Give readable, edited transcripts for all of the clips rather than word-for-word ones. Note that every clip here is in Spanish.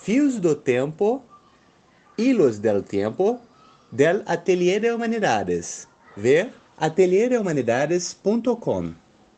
Fios do Tempo, Hilos del Tiempo, del Atelier de Humanidades. Ver atelierdehumanidades.com.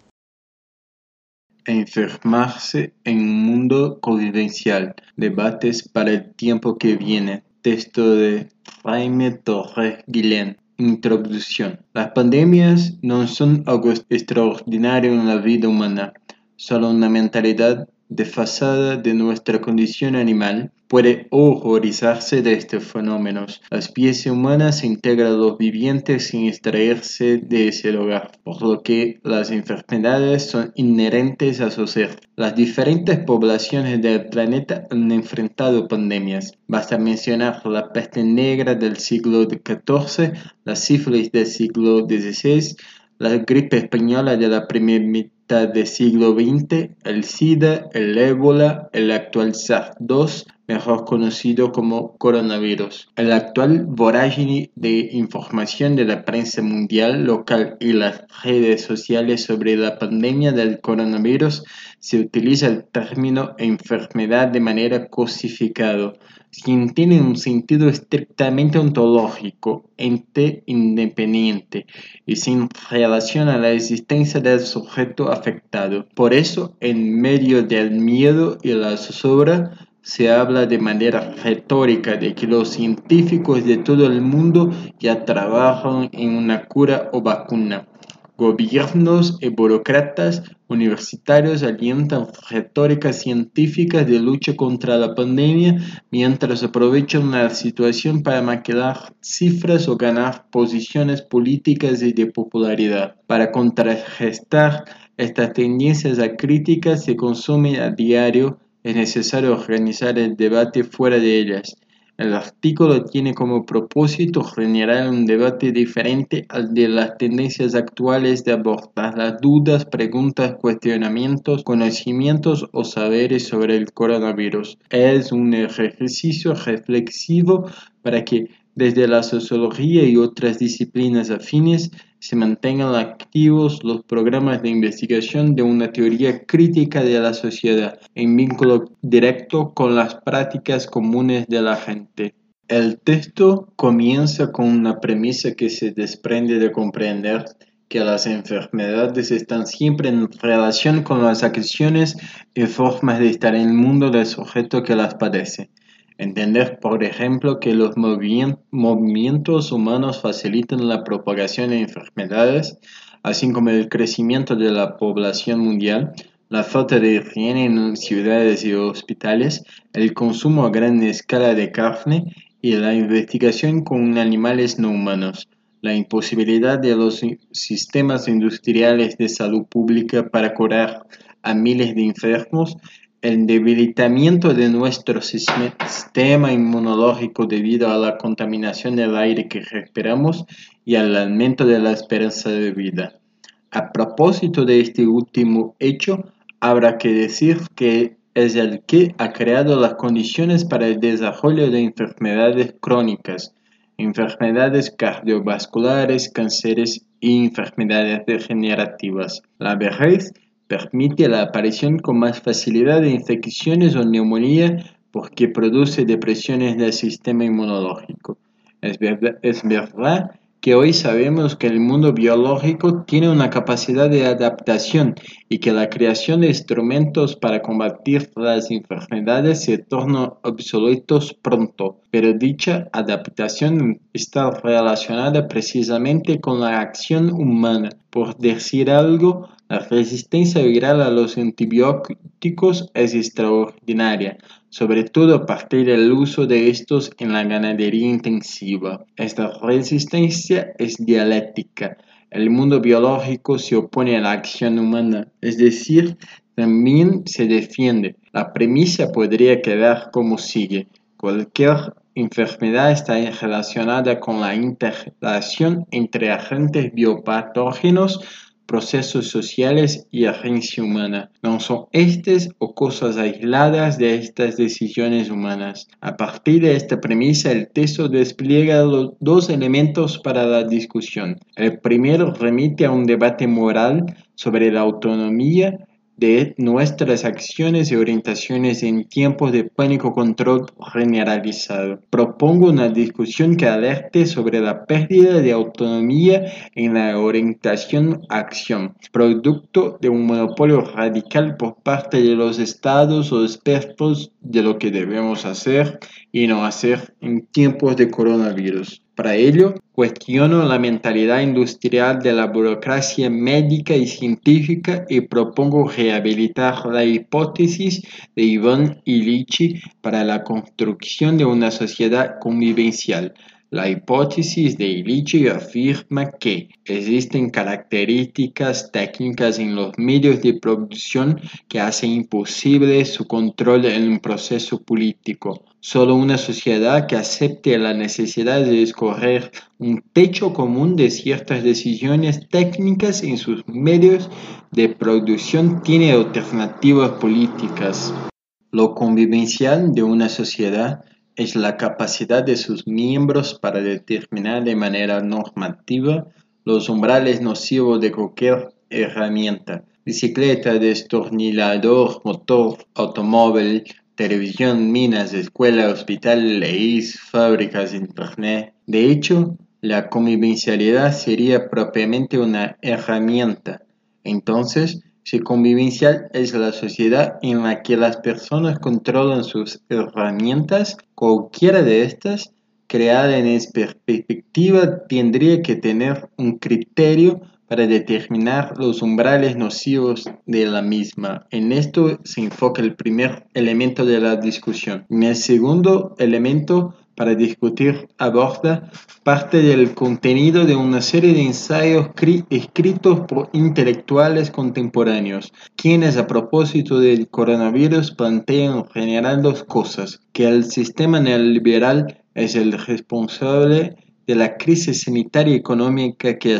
Enfermarse en un mundo convivencial. Debates para el tiempo que viene. Texto de Jaime Torres Guillén. Introducción. Las pandemias no son algo extraordinario en la vida humana, solo una mentalidad desfasada de nuestra condición animal puede horrorizarse de estos fenómenos. La especie humana se integra a los vivientes sin extraerse de ese lugar, por lo que las enfermedades son inherentes a su ser. Las diferentes poblaciones del planeta han enfrentado pandemias. Basta mencionar la peste negra del siglo XIV, la sífilis del siglo XVI, la gripe española de la primera mitad del siglo XX, el SIDA, el ébola, el actual SARS-2, mejor conocido como coronavirus. El actual vorágine de información de la prensa mundial, local y las redes sociales sobre la pandemia del coronavirus se utiliza el término enfermedad de manera cosificado, sin tiene un sentido estrictamente ontológico, ente independiente y sin relación a la existencia del sujeto afectado. Por eso, en medio del miedo y la zozobra, se habla de manera retórica de que los científicos de todo el mundo ya trabajan en una cura o vacuna. Gobiernos y burócratas universitarios alientan retóricas científicas de lucha contra la pandemia mientras aprovechan la situación para maquillar cifras o ganar posiciones políticas y de popularidad. Para contrarrestar estas tendencias acríticas se consumen a diario, es necesario organizar el debate fuera de ellas. El artículo tiene como propósito generar un debate diferente al de las tendencias actuales de abordar las dudas, preguntas, cuestionamientos, conocimientos o saberes sobre el coronavirus. Es un ejercicio reflexivo para que desde la sociología y otras disciplinas afines se mantengan activos los programas de investigación de una teoría crítica de la sociedad en vínculo directo con las prácticas comunes de la gente. El texto comienza con una premisa que se desprende de comprender que las enfermedades están siempre en relación con las acciones y formas de estar en el mundo del sujeto que las padece. Entender, por ejemplo, que los movimientos humanos facilitan la propagación de enfermedades, así como el crecimiento de la población mundial, la falta de higiene en ciudades y hospitales, el consumo a gran escala de carne y la investigación con animales no humanos, la imposibilidad de los sistemas industriales de salud pública para curar a miles de enfermos, el debilitamiento de nuestro sistema inmunológico debido a la contaminación del aire que respiramos y al aumento de la esperanza de vida. A propósito de este último hecho, habrá que decir que es el que ha creado las condiciones para el desarrollo de enfermedades crónicas, enfermedades cardiovasculares, cánceres y enfermedades degenerativas. La vejez permite la aparición con más facilidad de infecciones o neumonía porque produce depresiones del sistema inmunológico. Es verdad que hoy sabemos que el mundo biológico tiene una capacidad de adaptación y que la creación de instrumentos para combatir las enfermedades se torna obsoletos pronto, pero dicha adaptación está relacionada precisamente con la acción humana. Por decir algo, la resistencia viral a los antibióticos es extraordinaria, sobre todo a partir del uso de estos en la ganadería intensiva. Esta resistencia es dialéctica. El mundo biológico se opone a la acción humana, es decir, también se defiende. La premisa podría quedar como sigue. Cualquier enfermedad está relacionada con la interrelación entre agentes biopatógenos, procesos sociales y agencia humana. No son estas o cosas aisladas de estas decisiones humanas. A partir de esta premisa, el texto despliega los dos elementos para la discusión. El primero remite a un debate moral sobre la autonomía de nuestras acciones y orientaciones en tiempos de pánico control generalizado. Propongo una discusión que alerte sobre la pérdida de autonomía en la orientación a acción, producto de un monopolio radical por parte de los estados o expertos de lo que debemos hacer y no hacer en tiempos de coronavirus. Para ello, cuestiono la mentalidad industrial de la burocracia médica y científica y propongo rehabilitar la hipótesis de Ivan Illich para la construcción de una sociedad convivencial. La hipótesis de Illich afirma que existen características técnicas en los medios de producción que hacen imposible su control en un proceso político. Solo una sociedad que acepte la necesidad de escoger un techo común de ciertas decisiones técnicas en sus medios de producción tiene alternativas políticas. Lo convivencial de una sociedad es la capacidad de sus miembros para determinar de manera normativa los umbrales nocivos de cualquier herramienta, bicicleta, destornillador, motor, automóvil, televisión, minas, escuela, hospital, leyes, fábricas, internet. De hecho, la convivencialidad sería propiamente una herramienta. Entonces, si convivencial es la sociedad en la que las personas controlan sus herramientas, cualquiera de estas, creada en esa perspectiva, tendría que tener un criterio para determinar los umbrales nocivos de la misma. En esto se enfoca el primer elemento de la discusión. En el segundo elemento, para discutir, aborda parte del contenido de una serie de ensayos escritos por intelectuales contemporáneos, quienes a propósito del coronavirus plantean en general dos cosas: que el sistema neoliberal es el responsable de la crisis sanitaria y económica que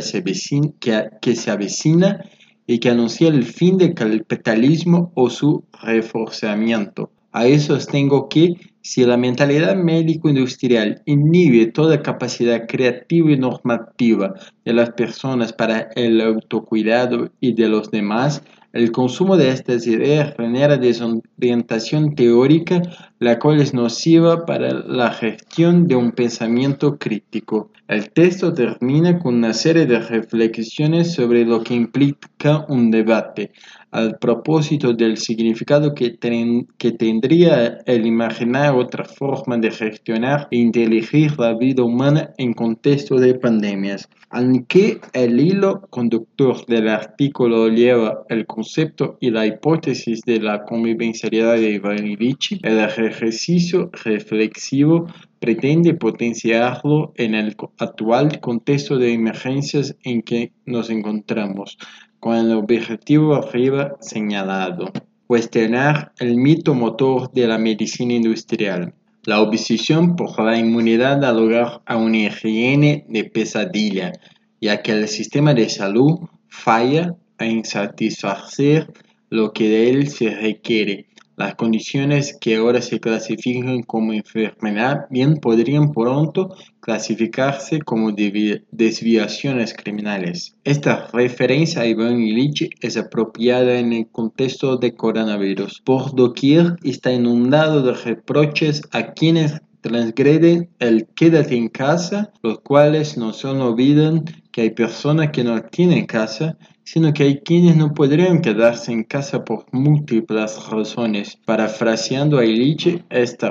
se avecina y que anuncia el fin del capitalismo o su reforzamiento. A eso sostengo que si la mentalidad médico-industrial inhibe toda capacidad creativa y normativa de las personas para el autocuidado y de los demás, el consumo de estas ideas genera desorientación teórica, la cual es nociva para la gestión de un pensamiento crítico. El texto termina con una serie de reflexiones sobre lo que implica un debate, al propósito del significado que tendría el imaginar otra forma de gestionar e inteligir la vida humana en contexto de pandemias. Aunque el hilo conductor del artículo lleva el concepto y la hipótesis de la convivencialidad de Ivan Illich, el ejercicio reflexivo pretende potenciarlo en el actual contexto de emergencias en que nos encontramos, con el objetivo arriba señalado: cuestionar el mito motor de la medicina industrial. La obsesión por la inmunidad da lugar a una higiene de pesadilla, ya que el sistema de salud falla en satisfacer lo que de él se requiere. Las condiciones que ahora se clasifican como enfermedad bien podrían pronto clasificarse como desviaciones criminales. Esta referencia a Ivan Illich es apropiada en el contexto de coronavirus. Por doquier está inundado de reproches a quienes transgreden el quédate en casa, los cuales no solo olvidan que hay personas que no tienen casa, sino que hay quienes no podrían quedarse en casa por múltiples razones. Parafraseando a Illich, esta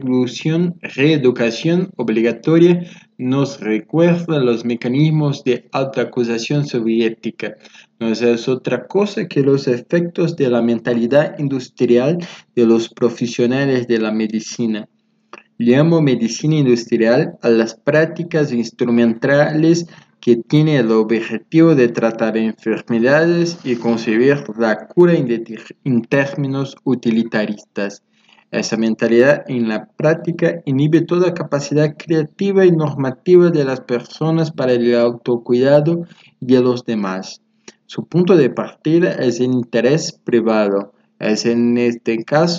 reeducación obligatoria nos recuerda los mecanismos de autoacusación soviética. No es otra cosa que los efectos de la mentalidad industrial de los profesionales de la medicina. Llamo medicina industrial a las prácticas instrumentales que tienen el objetivo de tratar enfermedades y concebir la cura en términos utilitaristas. Esa mentalidad en la práctica inhibe toda capacidad creativa y normativa de las personas para el autocuidado y de los demás. Su punto de partida es el interés privado. Es en este caso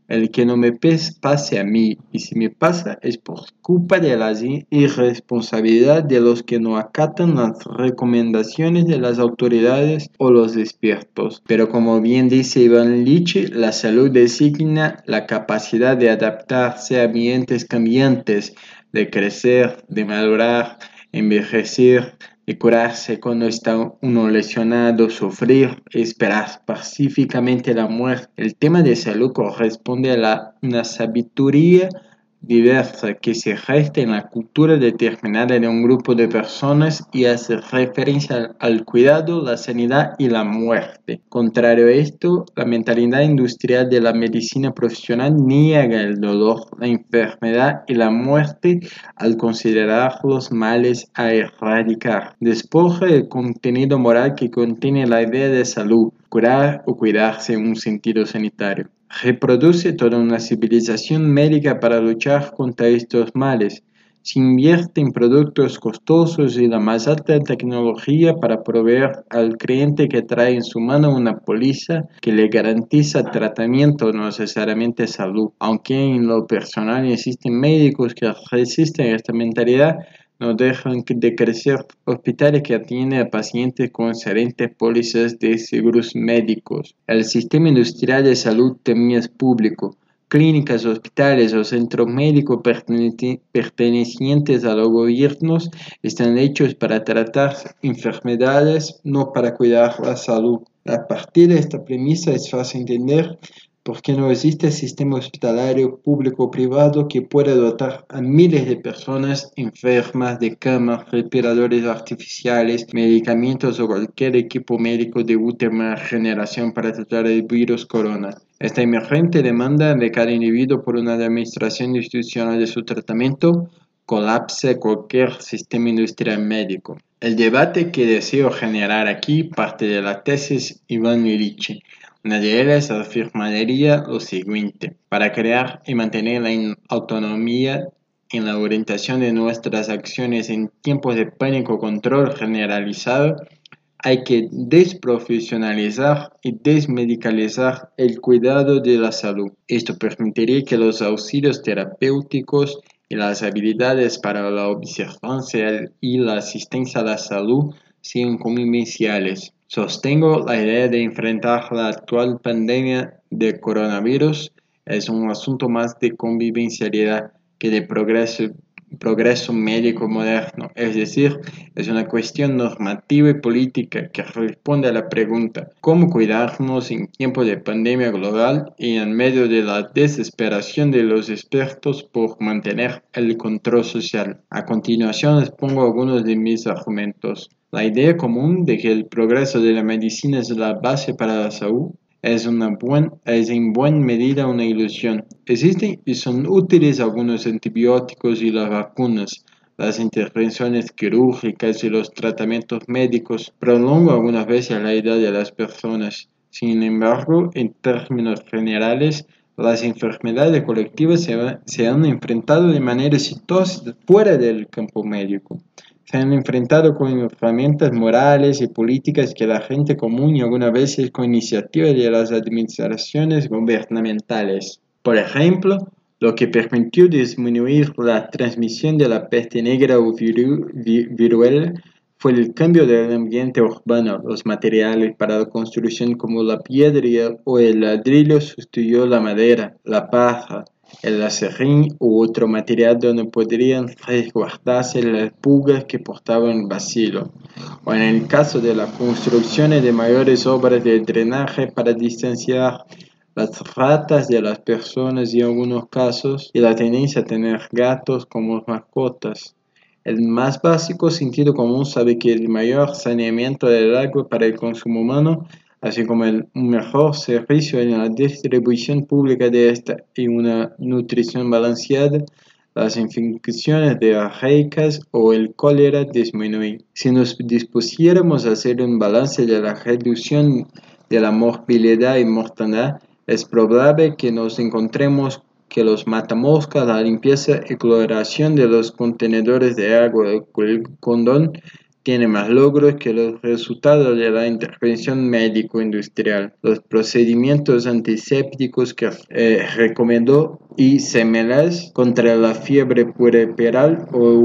el que no me pase a mí, y si me pasa es por culpa de la irresponsabilidad de los que no acatan las recomendaciones de las autoridades o los expertos. Pero como bien dice Iván Lich, la salud designa la capacidad de adaptarse a ambientes cambiantes, de crecer, de madurar, envejecer, de curarse cuando está uno lesionado, sufrir, esperar pacíficamente la muerte. El tema de salud corresponde a una sabiduría diversa que se gesta en la cultura determinada de un grupo de personas y hace referencia al cuidado, la sanidad y la muerte. Contrario a esto, la mentalidad industrial de la medicina profesional niega el dolor, la enfermedad y la muerte al considerarlos males a erradicar. Despoja el contenido moral que contiene la idea de salud, curar o cuidarse en un sentido sanitario. Reproduce toda una civilización médica para luchar contra estos males. Se invierte en productos costosos y la más alta tecnología para proveer al cliente que trae en su mano una póliza que le garantiza tratamiento, no necesariamente salud. Aunque en lo personal existen médicos que resisten a esta mentalidad, no dejan de crecer hospitales que atienden a pacientes con excelentes pólizas de seguros médicos. El sistema industrial de salud también es público. Clínicas, hospitales o centros médicos pertenecientes a los gobiernos están hechos para tratar enfermedades, no para cuidar la salud. A partir de esta premisa es fácil entender por qué no existe sistema hospitalario público o privado que pueda dotar a miles de personas enfermas de camas, respiradores artificiales, medicamentos o cualquier equipo médico de última generación para tratar el virus corona. Esta emergente demanda de cada individuo por una administración institucional de su tratamiento colapsa cualquier sistema industrial médico. El debate que deseo generar aquí parte de la tesis Iván Lich. Una de ellas afirmaría lo siguiente: para crear y mantener la autonomía en la orientación de nuestras acciones en tiempos de pánico control generalizado, hay que desprofesionalizar y desmedicalizar el cuidado de la salud. Esto permitiría que los auxilios terapéuticos y las habilidades para la observancia y la asistencia a la salud sean convivenciales. Sostengo la idea de enfrentar la actual pandemia de coronavirus es un asunto más de convivencialidad que de progreso médico moderno, es decir, es una cuestión normativa y política que responde a la pregunta: ¿cómo cuidarnos en tiempos de pandemia global y en medio de la desesperación de los expertos por mantener el control social? A continuación expongo algunos de mis argumentos. La idea común de que el progreso de la medicina es la base para la salud es en buena medida una ilusión. Existen y son útiles algunos antibióticos y las vacunas. Las intervenciones quirúrgicas y los tratamientos médicos prolongan algunas veces la edad de las personas. Sin embargo, en términos generales, las enfermedades colectivas se han enfrentado de manera exitosa fuera del campo médico. Se han enfrentado con herramientas morales y políticas que la gente común y algunas veces con iniciativas de las administraciones gubernamentales. Por ejemplo, lo que permitió disminuir la transmisión de la peste negra o viruela fue el cambio del ambiente urbano. Los materiales para la construcción como la piedra o el ladrillo sustituyó la madera, la paja, el acerrín u otro material donde podrían resguardarse las pulgas que portaban el bacilo, o en el caso de la construcción de mayores obras de drenaje para distanciar las ratas de las personas y en algunos casos y la tendencia a tener gatos como mascotas. El más básico sentido común sabe que el mayor saneamiento del agua para el consumo humano, así como un mejor servicio en la distribución pública de esta y una nutrición balanceada, las infecciones diarreicas o el cólera disminuyen. Si nos dispusiéramos a hacer un balance de la reducción de la morbilidad y mortalidad, es probable que nos encontremos que los matamoscas, la limpieza y cloración de los contenedores de agua, el condón, tiene más logros que los resultados de la intervención médico-industrial. Los procedimientos antisépticos que recomendó y similares contra la fiebre puerperal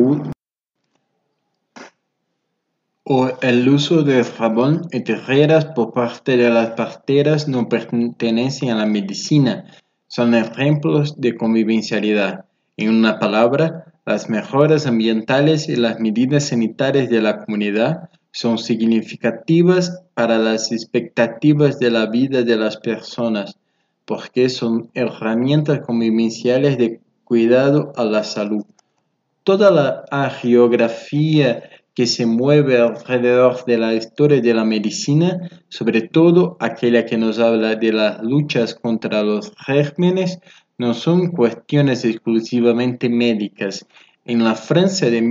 o el uso de jabón y tijeras por parte de las parteras no pertenecen a la medicina, son ejemplos de convivencialidad. En una palabra, las mejoras ambientales y las medidas sanitarias de la comunidad son significativas para las expectativas de la vida de las personas, porque son herramientas convivenciales de cuidado a la salud. Toda la geografía que se mueve alrededor de la historia de la medicina, sobre todo aquella que nos habla de las luchas contra los gérmenes, no son cuestiones exclusivamente médicas. En la Francia de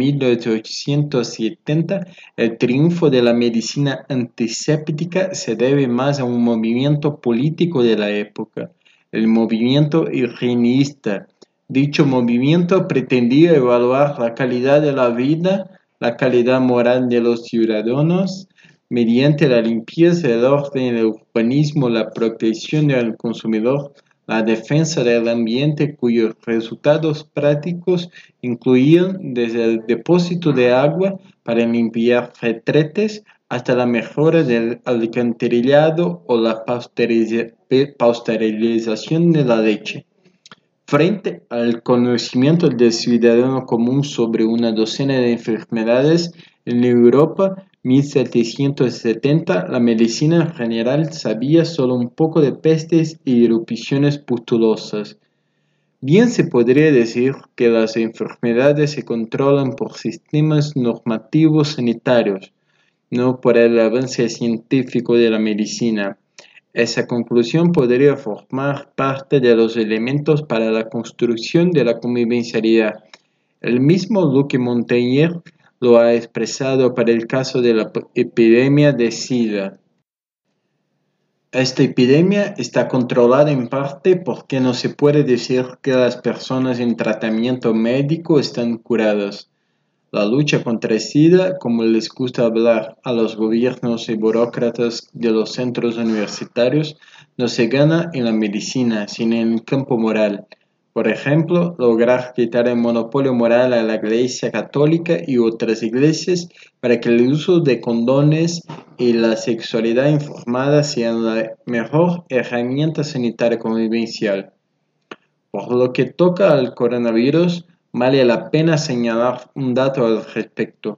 1870, el triunfo de la medicina antiséptica se debe más a un movimiento político de la época, el movimiento higienista. Dicho movimiento pretendía evaluar la calidad de la vida, la calidad moral de los ciudadanos, mediante la limpieza, el orden, el urbanismo, la protección del consumidor, la defensa del ambiente, cuyos resultados prácticos incluían desde el depósito de agua para limpiar retretes hasta la mejora del alcantarillado o la pasteurización de la leche. Frente al conocimiento del ciudadano común sobre una docena de enfermedades, en Europa 1770 la medicina en general sabía solo un poco de pestes y erupciones pustulosas. Bien se podría decir que las enfermedades se controlan por sistemas normativos sanitarios, no por el avance científico de la medicina. Esa conclusión podría formar parte de los elementos para la construcción de la convivencialidad. El mismo Luc Montagnier lo ha expresado para el caso de la epidemia de SIDA. Esta epidemia está controlada en parte porque no se puede decir que las personas en tratamiento médico están curadas. La lucha contra el SIDA, como les gusta hablar a los gobiernos y burócratas de los centros universitarios, no se gana en la medicina, sino en el campo moral. Por ejemplo, lograr quitar el monopolio moral a la Iglesia Católica y otras iglesias para que el uso de condones y la sexualidad informada sean la mejor herramienta sanitaria convivencial. Por lo que toca al coronavirus, vale la pena señalar un dato al respecto.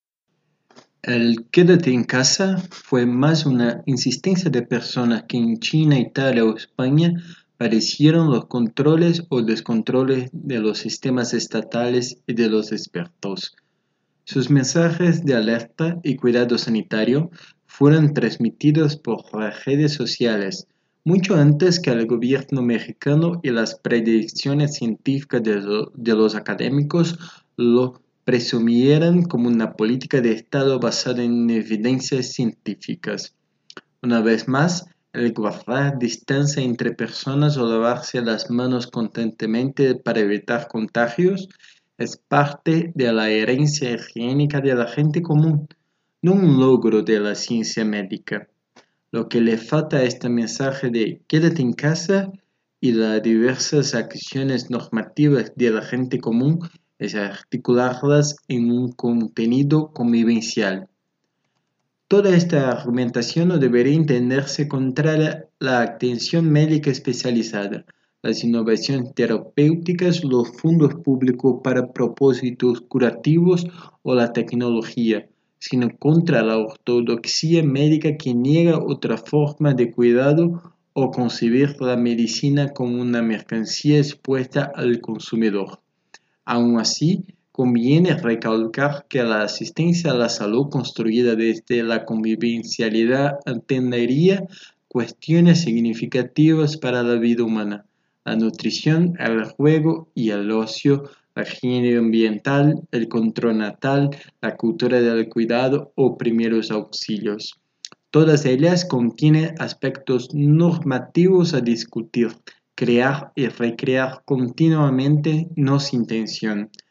El quédate en casa fue más una insistencia de personas que en China, Italia o España padecieron los controles o descontroles de los sistemas estatales y de los expertos. Sus mensajes de alerta y cuidado sanitario fueron transmitidos por las redes sociales, mucho antes que el gobierno mexicano y las predicciones científicas de los académicos lo presumieran como una política de Estado basada en evidencias científicas. Una vez más, el guardar distancia entre personas o lavarse las manos constantemente para evitar contagios es parte de la herencia higiénica de la gente común, no un logro de la ciencia médica. Lo que le falta a este mensaje de quédate en casa y las diversas acciones normativas de la gente común es articularlas en un contenido convivencial. Toda esta argumentación no debería entenderse contra la atención médica especializada, las innovaciones terapéuticas, los fondos públicos para propósitos curativos o la tecnología, sino contra la ortodoxia médica que niega otra forma de cuidado o concebir la medicina como una mercancía expuesta al consumidor. Aun así, conviene recalcar que la asistencia a la salud construida desde la convivencialidad atendería cuestiones significativas para la vida humana: la nutrición, el juego y el ocio, la higiene ambiental, el control natal, la cultura del cuidado o primeros auxilios. Todas ellas contienen aspectos normativos a discutir, crear y recrear continuamente, no sin tensión.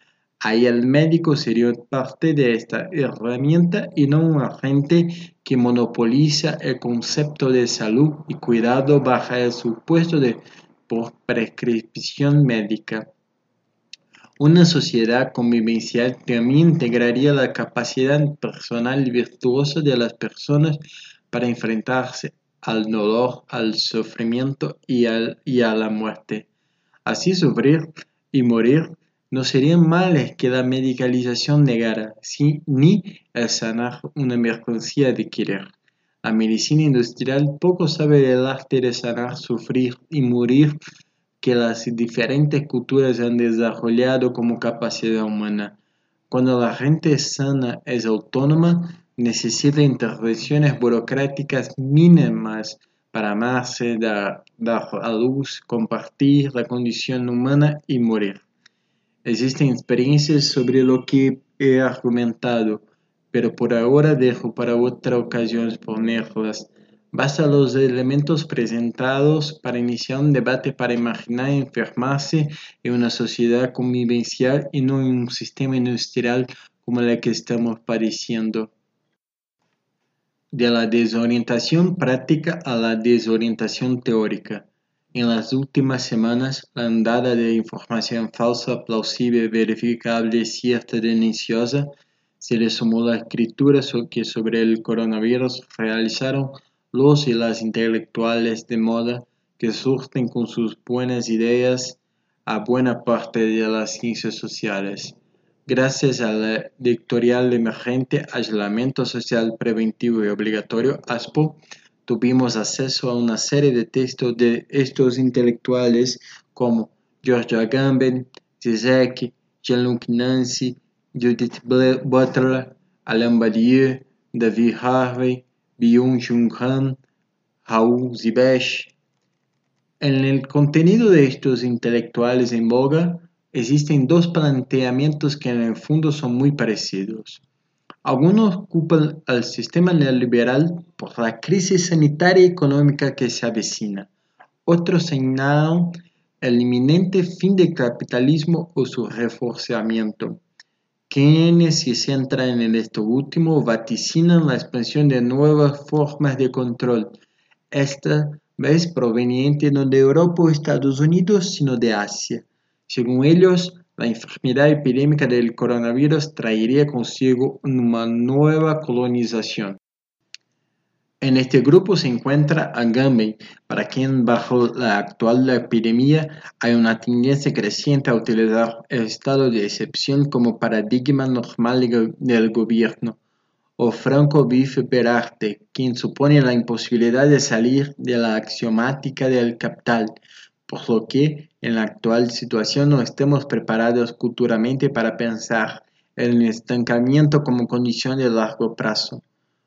Ahí el médico sería parte de esta herramienta y no un agente que monopoliza el concepto de salud y cuidado bajo el supuesto de por prescripción médica. Una sociedad convivencial también integraría la capacidad personal y virtuosa de las personas para enfrentarse al dolor, al sufrimiento y a la muerte. Así sufrir y morir no serían males que la medicalización negara, ni el sanar una mercancía de querer. La medicina industrial poco sabe del arte de sanar, sufrir y morir que las diferentes culturas han desarrollado como capacidad humana. Cuando la gente sana es autónoma, necesita intervenciones burocráticas mínimas para amarse, dar a luz, compartir la condición humana y morir. Existen experiencias sobre lo que he argumentado, pero por ahora dejo para otra ocasión exponerlas. Basta los elementos presentados para iniciar un debate para imaginar enfermarse en una sociedad convivencial y no en un sistema industrial como el que estamos padeciendo. De la desorientación práctica a la desorientación teórica. En las últimas semanas, la ondada de información falsa, plausible, verificable, cierta, deliciosa, se le sumó la escritura que sobre el coronavirus realizaron los y las intelectuales de moda que surten con sus buenas ideas a buena parte de las ciencias sociales. Gracias a la editorial emergente Aislamiento Social Preventivo y Obligatorio, ASPO, tuvimos acceso a una serie de textos de estos intelectuales como George Agamben, Zizek, Jean-Luc Nancy, Judith Butler, Alain Badiou, David Harvey, Byung-Chul Han, Raoul Zibesh. En el contenido de estos intelectuales en boga, existen dos planteamientos que en el fondo son muy parecidos. Algunos culpan al sistema neoliberal por la crisis sanitaria y económica que se avecina. Otros señalan el inminente fin del capitalismo o su reforzamiento. Quienes se centran en esto último vaticinan la expansión de nuevas formas de control, esta vez proveniente no de Europa o Estados Unidos, sino de Asia. Según ellos, la enfermedad epidémica del coronavirus traería consigo una nueva colonización. En este grupo se encuentra Agamben, para quien bajo la actual epidemia hay una tendencia creciente a utilizar el estado de excepción como paradigma normal del gobierno, o Franco Berarte, quien supone la imposibilidad de salir de la axiomática del capital, por lo que en la actual situación no estemos preparados culturalmente para pensar el estancamiento como condición de largo plazo.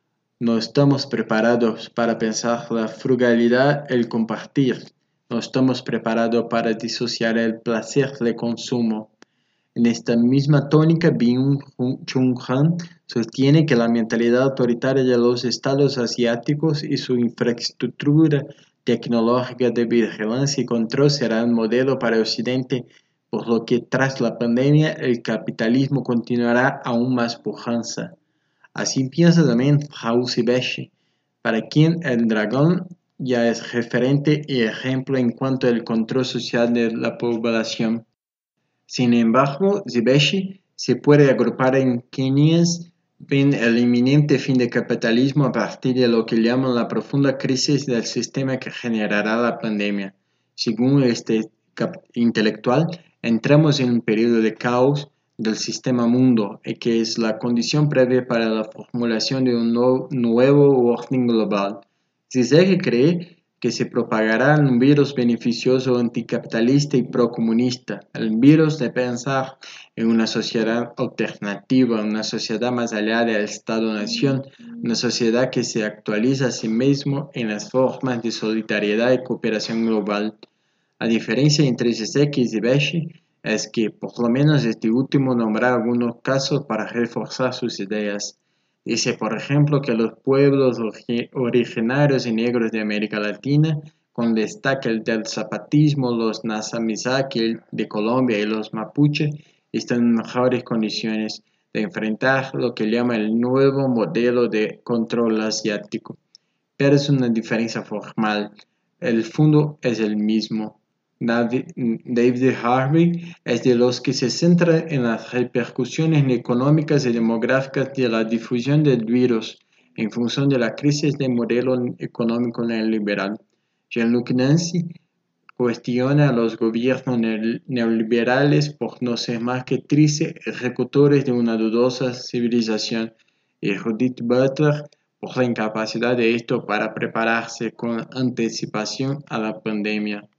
No estamos preparados para pensar la frugalidad, el compartir. No estamos preparados para disociar el placer del consumo. En esta misma tónica, Byung-Chul Han sostiene que la mentalidad autoritaria de los estados asiáticos y su infraestructura tecnológica de vigilancia y control será un modelo para Occidente, por lo que tras la pandemia el capitalismo continuará aún más pujanza. Así piensa también Raoul Zibesh, para quien el dragón ya es referente y ejemplo en cuanto al control social de la población. Sin embargo, Zibesh se puede agrupar en quienes ven el inminente fin del capitalismo a partir de lo que llaman la profunda crisis del sistema que generará la pandemia. Según este intelectual, entramos en un periodo de caos del sistema mundo, y que es la condición previa para la formulación de un nuevo orden global. Zizek cree que se propagará un virus beneficioso anticapitalista y procomunista, el virus de pensar en una sociedad alternativa, una sociedad más allá del Estado-nación, una sociedad que se actualiza a sí mismo en las formas de solidaridad y cooperación global. La diferencia entre Zizek y Zibesh es que por lo menos este último nombra algunos casos para reforzar sus ideas. Dice, por ejemplo, que los pueblos originarios y negros de América Latina, con destaque el del zapatismo, los Nasamizaki de Colombia y los mapuche, están en mejores condiciones de enfrentar lo que llama el nuevo modelo de control asiático. Pero es una diferencia formal. El fondo es el mismo. David Harvey es de los que se centra en las repercusiones económicas y demográficas de la difusión del virus en función de la crisis del modelo económico neoliberal. Jean-Luc Nancy cuestiona a los gobiernos neoliberales por no ser más que tristes ejecutores de una dudosa civilización, y Judith Butler por la incapacidad de esto para prepararse con anticipación a la pandemia.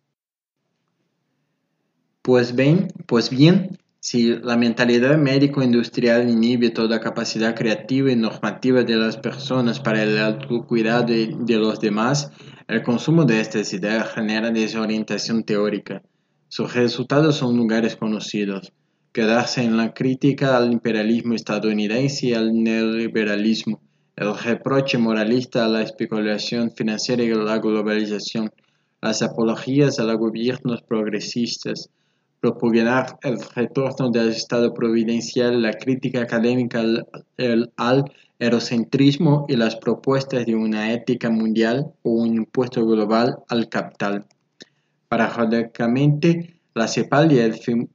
Pues bien, si la mentalidad médico-industrial inhibe toda capacidad creativa y normativa de las personas para el autocuidado de los demás, el consumo de estas ideas genera desorientación teórica. Sus resultados son lugares conocidos: quedarse en la crítica al imperialismo estadounidense y al neoliberalismo, el reproche moralista a la especulación financiera y a la globalización, las apologías a los gobiernos progresistas, propugnar el retorno del Estado providencial, la crítica académica al eurocentrismo y las propuestas de una ética mundial o un impuesto global al capital. Paradójicamente, la CEPAL y el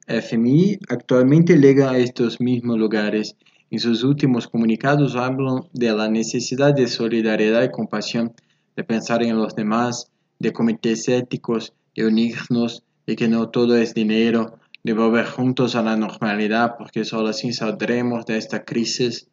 FMI actualmente llegan a estos mismos lugares. En sus últimos comunicados hablan de la necesidad de solidaridad y compasión, de pensar en los demás, de comités éticos, de unirnos, de que no todo es dinero, de volver juntos a la normalidad porque solo así saldremos de esta crisis.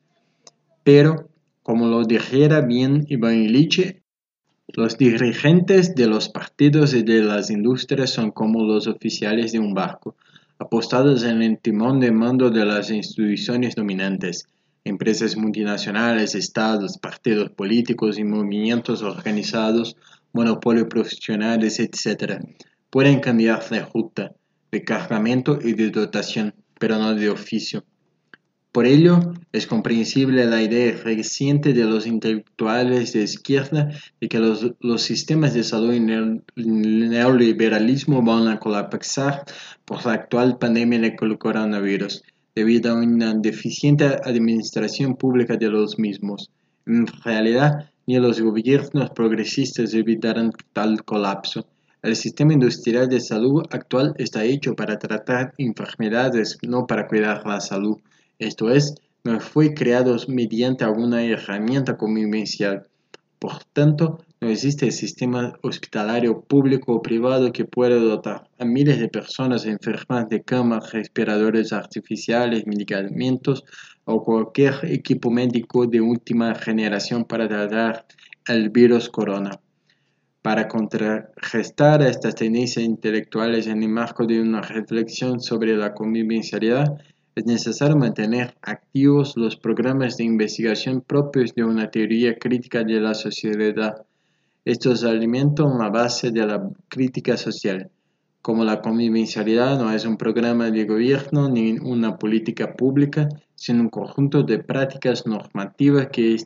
Pero, como lo dijera bien Iván Illich, los dirigentes de los partidos y de las industrias son como los oficiales de un barco, apostados en el timón de mando de las instituciones dominantes. Empresas multinacionales, estados, partidos políticos y movimientos organizados, monopolios profesionales, etc. pueden cambiar de ruta, de cargamento y de dotación, pero no de oficio. Por ello, es comprensible la idea reciente de los intelectuales de izquierda de que los sistemas de salud y el neoliberalismo van a colapsar por la actual pandemia del coronavirus, debido a una deficiente administración pública de los mismos. En realidad, ni los gobiernos progresistas evitarán tal colapso. El sistema industrial de salud actual está hecho para tratar enfermedades, no para cuidar la salud. Esto es, no fue creado mediante alguna herramienta convivencial. Por tanto, no existe sistema hospitalario público o privado que pueda dotar a miles de personas enfermas de camas, respiradores artificiales, medicamentos o cualquier equipo médico de última generación para tratar el virus corona. Para contrarrestar estas tendencias intelectuales en el marco de una reflexión sobre la convivencialidad, es necesario mantener activos los programas de investigación propios de una teoría crítica de la sociedad. Estos alimentan la base de la crítica social. Como la convivencialidad no es un programa de gobierno ni una política pública, sino un conjunto de prácticas normativas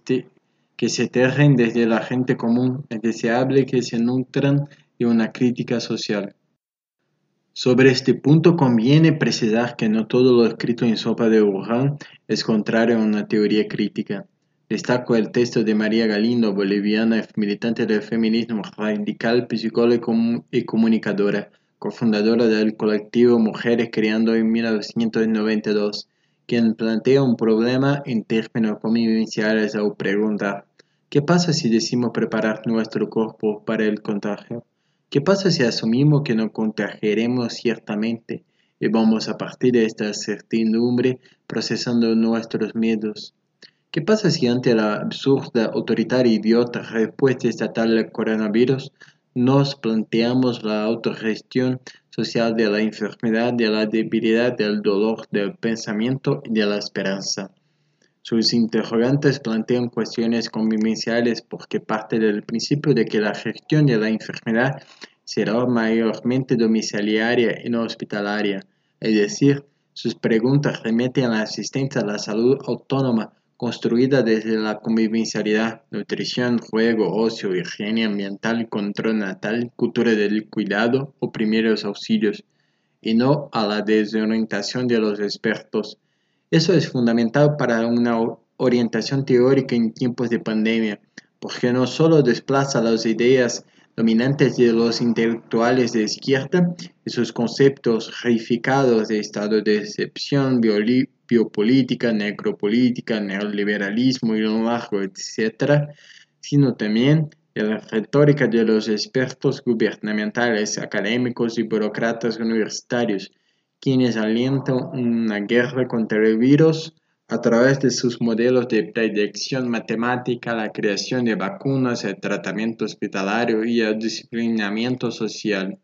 que se tejen desde la gente común, es deseable que se nutran de una crítica social. Sobre este punto conviene precisar que no todo lo escrito en Sopa de Wuhan es contrario a una teoría crítica. Destaco el texto de María Galindo, boliviana militante del feminismo radical, psicóloga y comunicadora, cofundadora del colectivo Mujeres Creando en 1992, quien plantea un problema en términos convivenciales al preguntar: ¿qué pasa si decimos preparar nuestro cuerpo para el contagio? ¿Qué pasa si asumimos que nos contagiaremos ciertamente y vamos a partir de esta certidumbre procesando nuestros miedos? ¿Qué pasa si ante la absurda, autoritaria y idiota respuesta estatal al coronavirus nos planteamos la autogestión social de la enfermedad, de la debilidad, del dolor, del pensamiento y de la esperanza? Sus interrogantes plantean cuestiones convivenciales porque parte del principio de que la gestión de la enfermedad será mayormente domiciliaria y no hospitalaria, es decir, sus preguntas remiten a la asistencia a la salud autónoma construida desde la convivencialidad, nutrición, juego, ocio, higiene ambiental, control natal, cultura del cuidado o primeros auxilios. y no a la desorientación de los expertos. Eso es fundamental para una orientación teórica en tiempos de pandemia, porque no solo desplaza las ideas dominantes de los intelectuales de izquierda y sus conceptos reificados de estado de excepción, biopolítica, necropolítica, neoliberalismo y lo largo, etc., sino también de la retórica de los expertos gubernamentales, académicos y burócratas universitarios, quienes alientan una guerra contra el virus a través de sus modelos de predicción matemática, la creación de vacunas, el tratamiento hospitalario y el disciplinamiento social.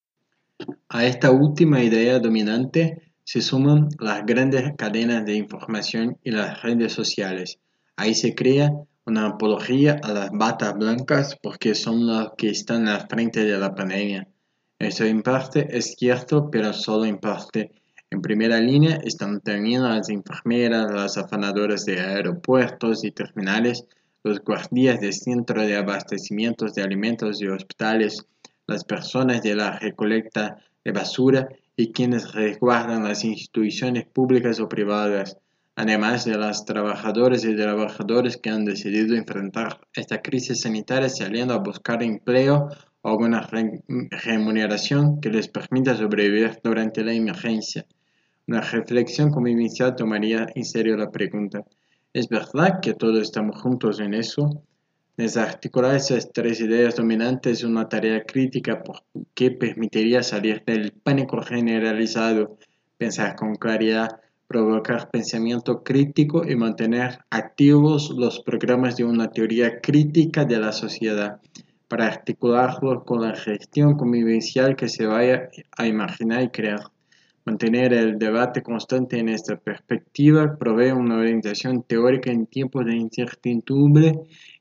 A esta última idea dominante se suman las grandes cadenas de información y las redes sociales. Ahí se crea una apología a las batas blancas porque son las que están al frente de la pandemia. Eso en parte es cierto, pero solo en parte. En primera línea están también las enfermeras, las afanadoras de aeropuertos y terminales, los guardias de centros de abastecimiento de alimentos y hospitales, las personas de la recolecta de basura y quienes resguardan las instituciones públicas o privadas, además de los trabajadores y trabajadores que han decidido enfrentar esta crisis sanitaria saliendo a buscar empleo o alguna remuneración que les permita sobrevivir durante la emergencia. Una reflexión convivencial tomaría en serio la pregunta: ¿es verdad que todos estamos juntos en eso? Desarticular esas tres ideas dominantes es una tarea crítica porque permitiría salir del pánico generalizado, pensar con claridad, provocar pensamiento crítico y mantener activos los programas de una teoría crítica de la sociedad, para articularlos con la gestión convivencial que se vaya a imaginar y crear. Mantener el debate constante en esta perspectiva provee una orientación teórica en tiempos de incertidumbre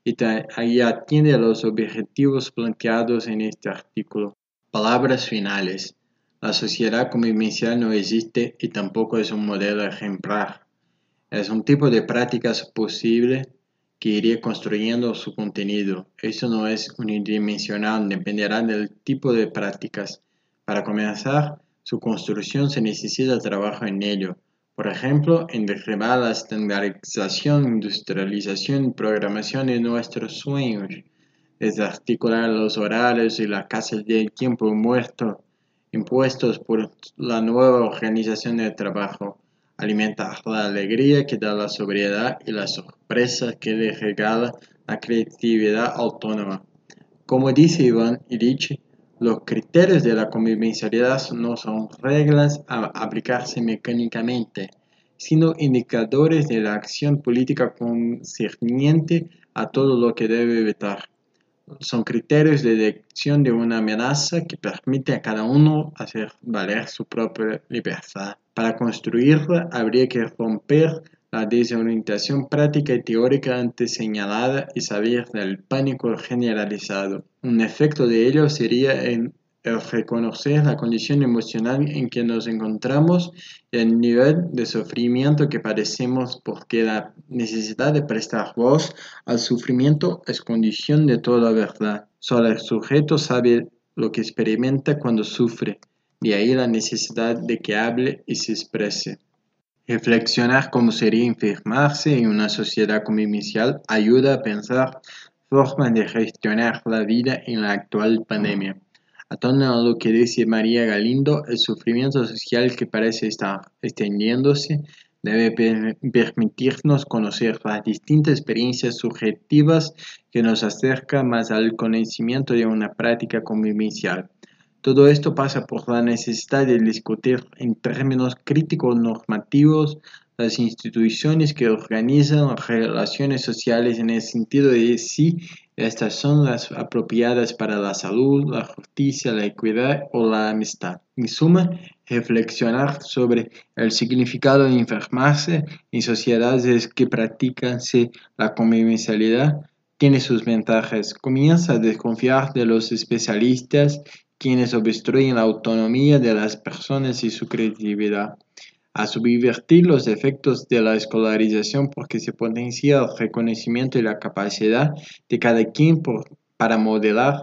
y atiende a los objetivos planteados en este artículo. Palabras finales. La sociedad convivencial no existe y tampoco es un modelo ejemplar. Es un tipo de prácticas posible que iría construyendo su contenido. Eso no es unidimensional, dependerá del tipo de prácticas. Para comenzar, su construcción se necesita trabajo en ello. Por ejemplo, en derribar la estandarización, industrialización y programación de nuestros sueños, desarticular los horarios y las casas del tiempo muerto impuestos por la nueva organización del trabajo, alimentar la alegría que da la sobriedad y la sorpresa que le regala la creatividad autónoma. Como dice Iván Illich, los criterios de la convivencialidad no son reglas a aplicarse mecánicamente, sino indicadores de la acción política concerniente a todo lo que debe evitar. Son criterios de detección de una amenaza que permite a cada uno hacer valer su propia libertad. Para construirla habría que romper la desorientación práctica y teórica antes señalada y salir del pánico generalizado. Un efecto de ello sería el reconocer la condición emocional en que nos encontramos y el nivel de sufrimiento que padecemos, porque la necesidad de prestar voz al sufrimiento es condición de toda verdad. Solo el sujeto sabe lo que experimenta cuando sufre, de ahí la necesidad de que hable y se exprese. Reflexionar cómo sería enfermarse en una sociedad convivencial ayuda a pensar formas de gestionar la vida en la actual pandemia. Atando a lo que dice María Galindo, el sufrimiento social que parece estar extendiéndose debe permitirnos conocer las distintas experiencias subjetivas que nos acercan más al conocimiento de una práctica convivencial. Todo esto pasa por la necesidad de discutir en términos críticos normativos las instituciones que organizan las relaciones sociales en el sentido de si estas son las apropiadas para la salud, la justicia, la equidad o la amistad. En suma, reflexionar sobre el significado de enfermarse en sociedades que practican la convivencialidad tiene sus ventajas. Comienza a desconfiar de los especialistas, quienes obstruyen la autonomía de las personas y su creatividad, a subvertir los efectos de la escolarización porque se potencia el reconocimiento y la capacidad de cada quien para modelar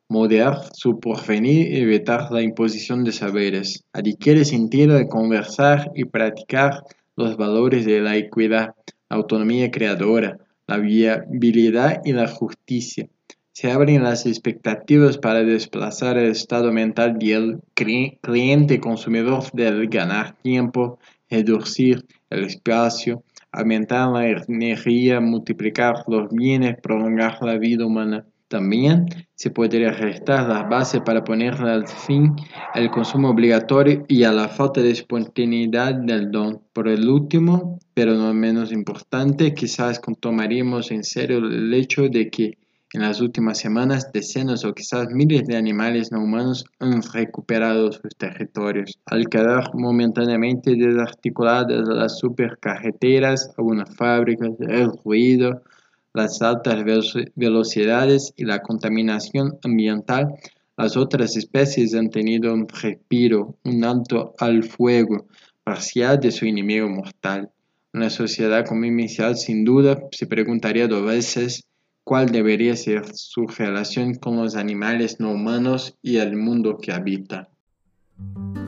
moderar su porvenir y evitar la imposición de saberes. Adquiere sentido de conversar y practicar los valores de la equidad, la autonomía creadora, la viabilidad y la justicia. Se abren las expectativas para desplazar el estado mental del cliente consumidor del ganar tiempo, reducir el espacio, aumentar la energía, multiplicar los bienes, prolongar la vida humana. También se podría restar las bases para poner al fin el consumo obligatorio y a la falta de espontaneidad del don. Por el último, pero no menos importante, quizás tomaríamos en serio el hecho de que en las últimas semanas decenas o quizás miles de animales no humanos han recuperado sus territorios. Al quedar momentáneamente desarticuladas las supercarreteras, algunas fábricas, el ruido, las altas velocidades y la contaminación ambiental, las otras especies han tenido un respiro, un alto al fuego parcial de su enemigo mortal. Una sociedad comercial sin duda se preguntaría dos veces cuál debería ser su relación con los animales no humanos y el mundo que habita.